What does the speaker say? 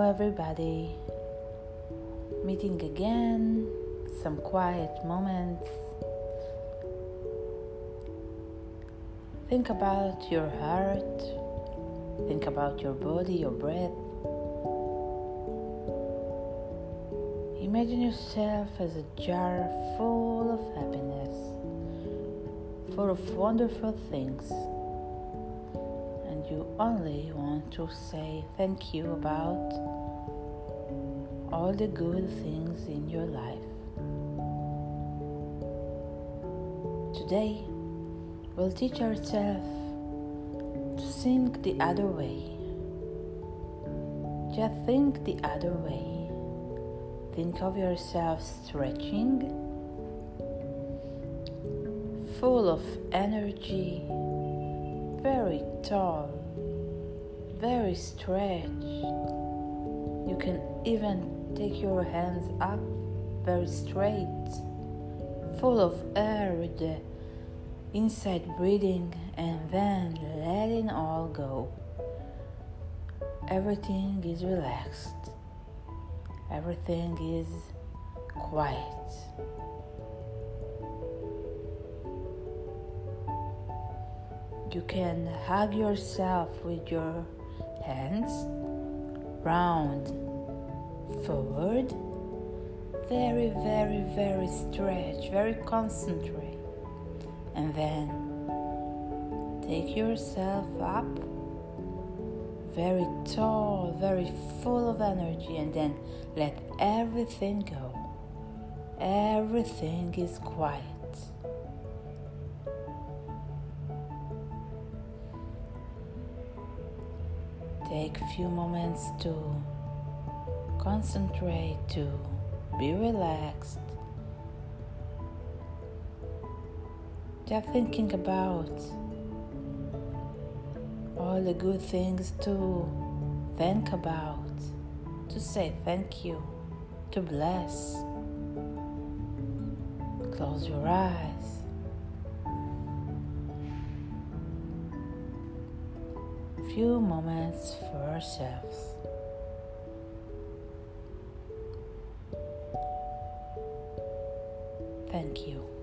everybody. Meeting again, some quiet moments. Think about your heart. Think about your body, your breath. Imagine yourself as a jar full of happiness, full of wonderful things. And you only want to say thank you about all the good things in your life. Today, we'll teach ourselves to think the other way. Just think the other way. Think of yourself stretching, full of energy, very tall, very stretched. You can even take your hands up very straight, full of air with the inside breathing and then letting all go. Everything is relaxed. Everything is quiet. You can hug yourself with your hands round, forward, very, very, very stretch, very concentrate. And then take yourself up, very tall, very full of energy, and then let everything go. Everything is quiet. Take a few moments to concentrate, to be relaxed. Just thinking about all the good things to think about, to say thank you, to bless. Close your eyes. Few moments for ourselves. Thank you.